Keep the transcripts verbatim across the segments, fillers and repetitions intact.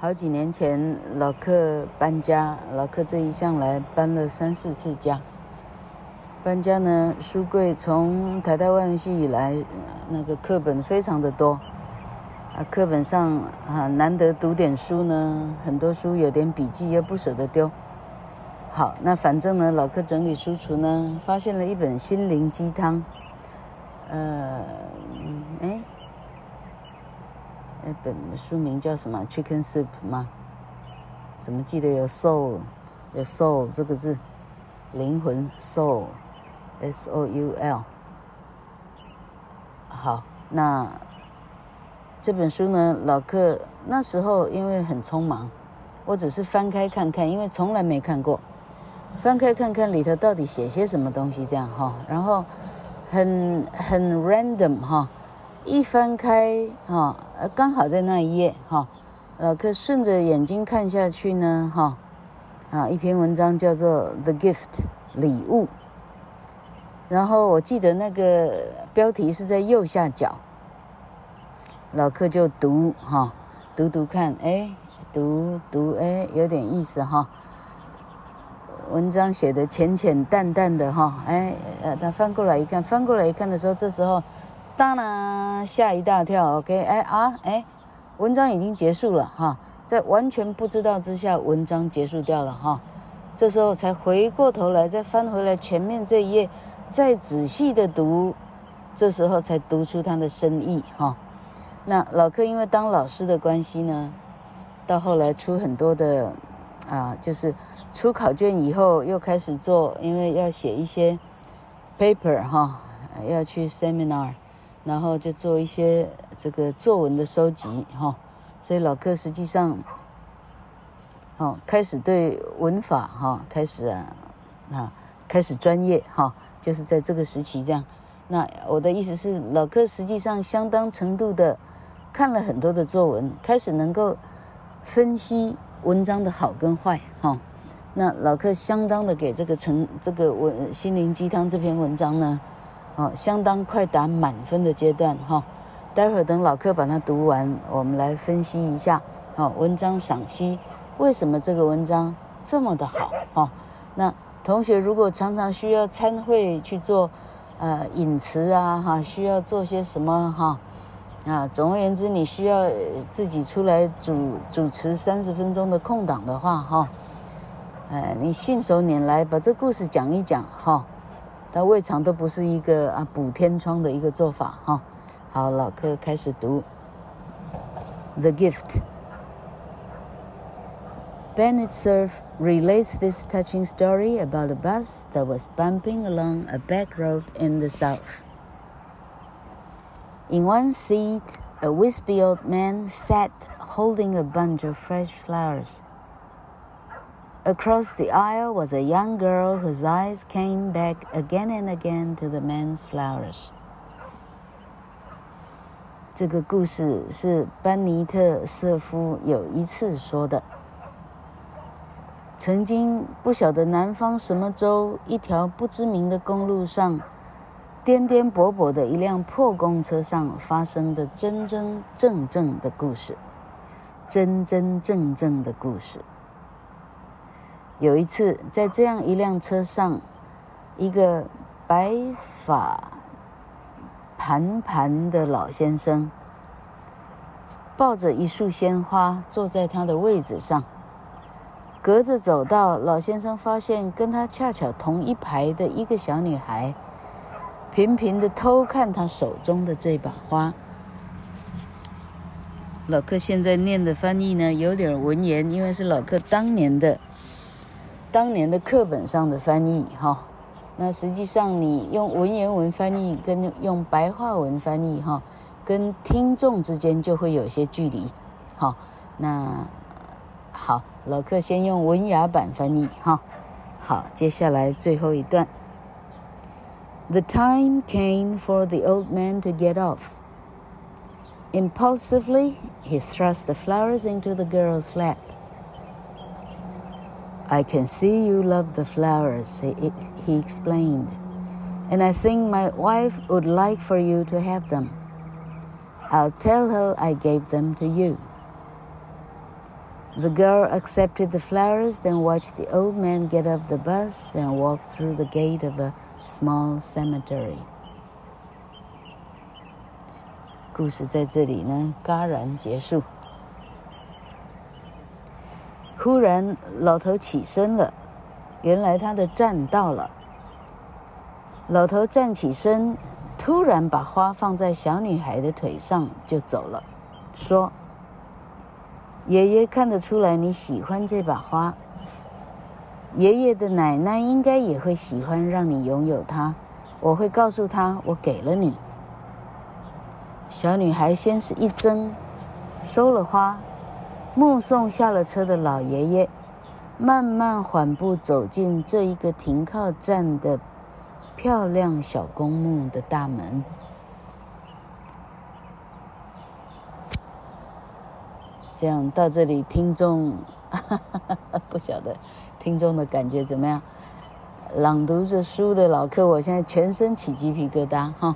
好幾年前老克搬家，老克這一向來搬了三四次家。搬家呢，書櫃從台大外文系以來，那個課本非常的多啊，課本上啊難得讀點書呢，很多書有點筆記又不捨得丟。好，那反正呢，老克整理書櫥呢，發現了一本心靈雞湯，呃，哎，那本書名叫什麼 ？Chicken Soup 嗎？怎麼記得有 soul， 有 soul 這個字，靈魂 soul。S O U L。 好，那這本書呢，老克那時候因為很匆忙，我只是翻開看看，因為從來沒看過，翻開看看裡頭到底寫些什麼東西這樣哈，然後很很 random 哈，一翻開哈，剛好在那一頁哈，老克順着眼睛看下去呢哈，啊，一篇文章叫做 The Gift 禮物。然後我記得那個標題是在右下角，老克就讀哈，讀讀看，哎，讀讀哎，有點意思哈。文章寫的淺淺淡淡的哈，哎，呃，他翻過來一看，翻過來一看的時候，這時候，當然嚇一大跳 ，OK， 哎啊，哎，文章已經結束了哈，在完全不知道之下，文章結束掉了哈。這時候才回過頭來，再翻回來前面這一頁。再仔細的讀，這時候才讀出它的深意哈。那老克因為當老師的關係呢，到後來出很多的啊，就是出考卷以後又開始做，因為要寫一些 paper 哈，要去 seminar， 然後就做一些這個作文的收集哈。所以老克實際上，哦，開始對文法哈，開始啊啊，開始專業哈。就是在這個時期這樣，那我的意思是，老克實際上相當程度的看了很多的作文，開始能夠分析文章的好跟壞哈。那老克相當的給這個成這個文心靈雞湯這篇文章呢，哦，相當快達滿分的階段哈。待會兒等老克把它讀完，我們來分析一下，好，文章賞析為什麼這個文章這麼的好哈。那同學如果常常需要參會去做，呃，引詞啊，哈，需要做些什麼哈，啊，總而言之，你需要自己出來主主持三十分鐘的空檔的話，哈，呃，你信手拈來把這故事講一講，哈，它未嘗都不是一個啊補天窗的一個做法，哈。好，老克開始讀《The Gift》。Bennett Cerf relates this touching story about a bus that was bumping along a back road in the South. In one seat, a wispy old man sat holding a bunch of fresh flowers. Across the aisle was a young girl whose eyes came back again and again to the man's flowers. 這個故事是班尼特·瑟夫有一次說的。曾經不曉得南方什麼州一條不知名的公路上，顛顛簸簸的一輛破公車上發生的真真正正的故事，真真正正的故事。有一次，在這樣一輛車上，一個白髮盤盤的老先生，抱着一束鮮花，坐在他的位子上。隔着走道，老先生發現跟他恰巧同一排的一個小女孩，頻頻地偷看他手中的這把花。老克現在念的翻譯呢，有點文言，因為是老克當年的當年的課本上的翻譯哈。那實際上你用文言文翻譯跟用白話文翻譯哈，跟聽眾之間就會有些距離。好，那好。老克先用文雅版翻譯哈，好，接下來最後一段。The time came for the old man to get off. Impulsively, he thrust the flowers into the girl's lap. I can see you love the flowers, he, he explained, and I think my wife would like for you to have them. I'll tell her I gave them to you. The girl accepted the flowers, then watched the old man get off the bus and walk through the gate of a small cemetery. 故事在這裡呢，戛然結束。忽然，老頭起身了，原來他的站到了。老頭站起身，突然把花放在小女孩的腿上，就走了，說：“爺爺看得出來你喜歡這把花，爺爺的奶奶應該也會喜歡讓你擁有它，我會告訴她我給了你。”小女孩先是一怔，收了花，目送下了車的老爺爺慢慢緩步走進這一個停靠站的漂亮小公墓的大門。這樣到這裡，聽眾不曉得聽眾的感覺怎麼樣？朗讀着書的老客，我現在全身起雞皮疙瘩哈。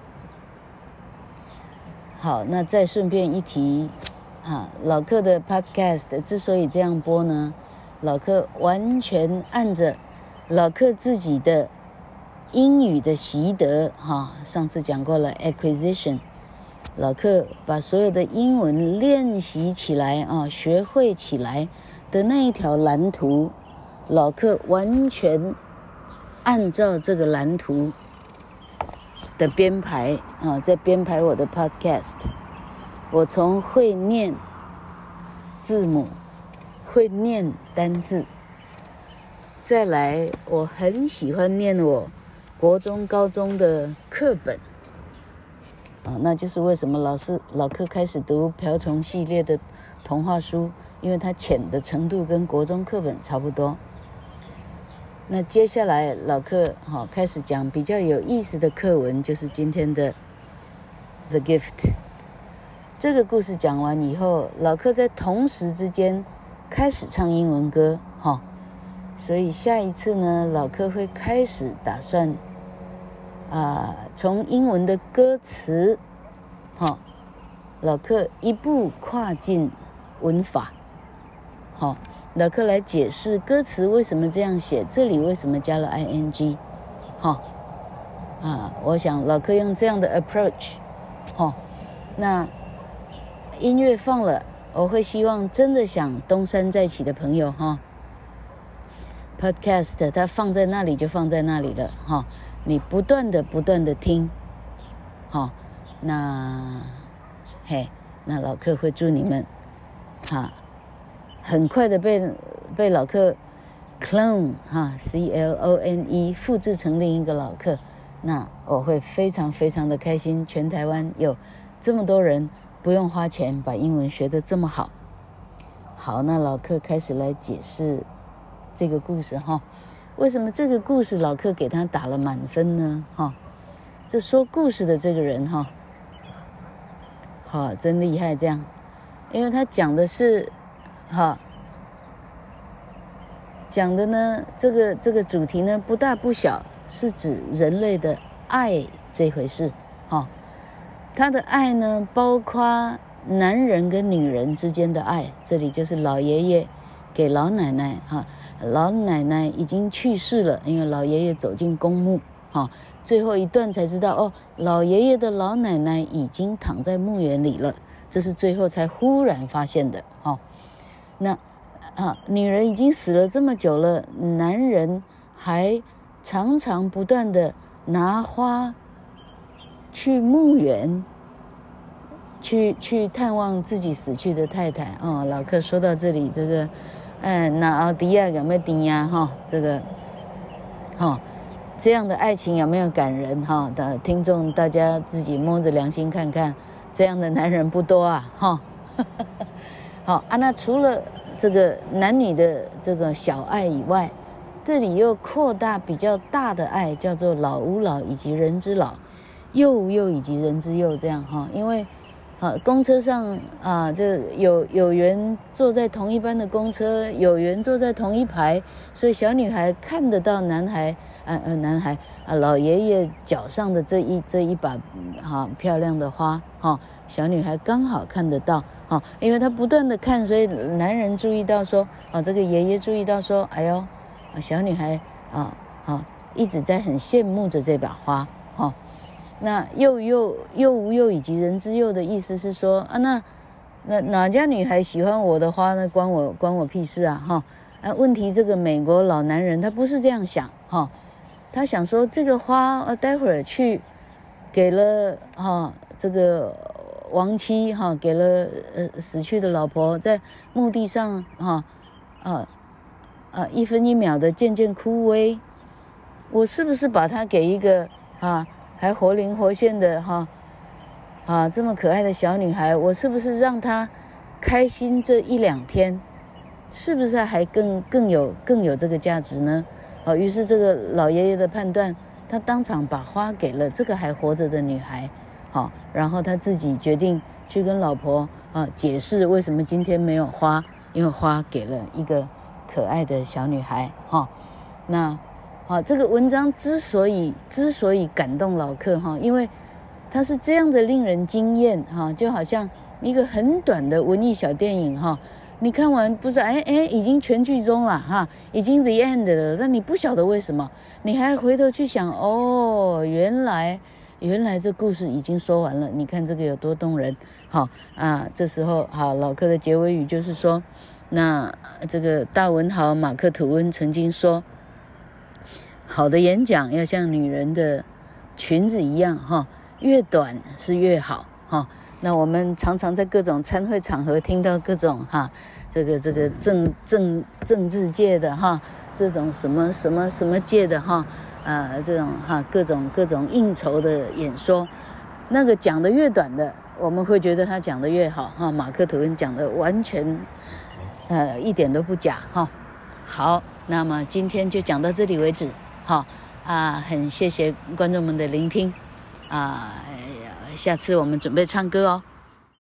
好，那再順便一提，啊，老客的 podcast 之所以這樣播呢，老客完全按着老客自己的英語的習得，哈，上次講過了 acquisition， 老客把所有的英文練習起來啊，學會起來的那一條藍圖，老客完全按照這個藍圖的編排啊，在編排我的 podcast。我從會念字母，會念單字，再來我很喜歡念我國中高中的課本啊，那就是為什麼老師老客開始讀瓢蟲系列的童話書，因為它淺的程度跟國中課本差不多。那接下來老客好、哦、開始講比較有意思的課文，就是今天的 The Gift。 這個故事講完以後，老客在同時之間開始唱英文歌哈、哦，所以下一次呢，老客會開始打算啊、呃，從英文的歌詞哈、哦，老客一步跨進文法好。哦，老客來解釋歌詞為什麼這樣寫，這裡為什麼加了 ing， 哈，啊，我想老客用這樣的 approach， 哈，那音樂放了，我會希望真的想東山再起的朋友，哈 ，podcast 它放在那裡就放在那裡了，哈，你不斷的不斷的聽，哈，那，嘿，那老客會祝你們，哈。很快的被被老客 clone 哈 C L O N E 複製成另一個老客，那我會非常非常的開心。全台灣有這麼多人不用花錢把英文學得這麼好。好，那老客開始來解釋這個故事哈。為什麼這個故事老客給他打了滿分呢？哈，這說故事的這個人哈，好，真厲害這樣，因為他講的是。好，講的呢，這個這個主題呢不大不小，是指人類的愛這回事。哈，他的愛呢，包括男人跟女人之間的愛。這裡就是老爺爺給老奶奶哈，老奶奶已經去世了，因為老爺爺走進公墓，哈，最後一段才知道哦，老爺爺的老奶奶已經躺在墓園裡了，這是最後才忽然發現的。哈。那啊，女人已經死了這麼久了，男人還常常不斷的拿花去墓園，去去探望自己死去的太太。哦，老客說到這裡，這個，哎，那奧迪亞有沒有頂呀？哈，這個，哈、哦，這樣的愛情有沒有感人？哈、哦，的聽眾大家自己摸着良心看看，這樣的男人不多啊，哈、哦。好啊，那除了這個男女的這個小愛以外，這裡又擴大比較大的愛，叫做老吾老以及人之老，幼吾幼以及人之幼，這樣哈。因為啊，公車上啊，這有有緣坐在同一班的公車，有緣坐在同一排，所以小女孩看得到男孩，啊呃，男孩啊，老爺爺腳上的這一這一把哈、啊、漂亮的花，哈、啊，小女孩剛好看得到，哈、啊，因為她不斷的看，所以男人注意到說，啊，這個爺爺注意到說，哎呦，小女孩啊啊，一直在很羨慕着這把花，哈、啊。那幼幼幼吾幼以及人之幼的意思是說啊，那那哪家女孩喜歡我的花呢？關我關我屁事啊！哈啊，問題這個美國老男人他不是這樣想哈，他想說這個花啊，待會兒去給了哈這個亡妻哈，給了呃死去的老婆，在墓地上哈啊啊一分一秒的漸漸枯萎，我是不是把它給一個啊？還活靈活現的哈，啊，這麼可愛的小女孩，我是不是讓她開心這一兩天，是不是還更更有更有這個價值呢？啊，於是這個老爺爺的判斷，他當場把花給了這個還活着的女孩，好，然後他自己決定去跟老婆啊解釋為什麼今天沒有花，因為花給了一個可愛的小女孩，哈，那。啊，這個文章之所以之所以感動老客哈，因為它是這樣的令人驚豔哈，就好像一個很短的文藝小電影哈，你看完不是哎哎已經全劇終了哈，已經 the end 了，但你不曉得為什麼，你還回頭去想哦，原來原來這故事已經說完了，你看這個有多動人。好啊，這時候好，老客的結尾語就是說，那這個大文豪馬克吐溫曾經說，好的演講要像女人的裙子一樣哈，越短是越好哈。那我們常常在各種參會場合聽到各種哈，這個這個政政政治界的哈，這種什麼什麼什麼界的哈，呃，這種哈各種各種應酬的演說，那個講的越短的，我們會覺得他講的越好哈。馬克吐溫講的完全呃一點都不假哈。好，那麼今天就講到這裡為止。好啊，很謝謝觀眾們的聆聽啊，下次我們準備唱歌哦。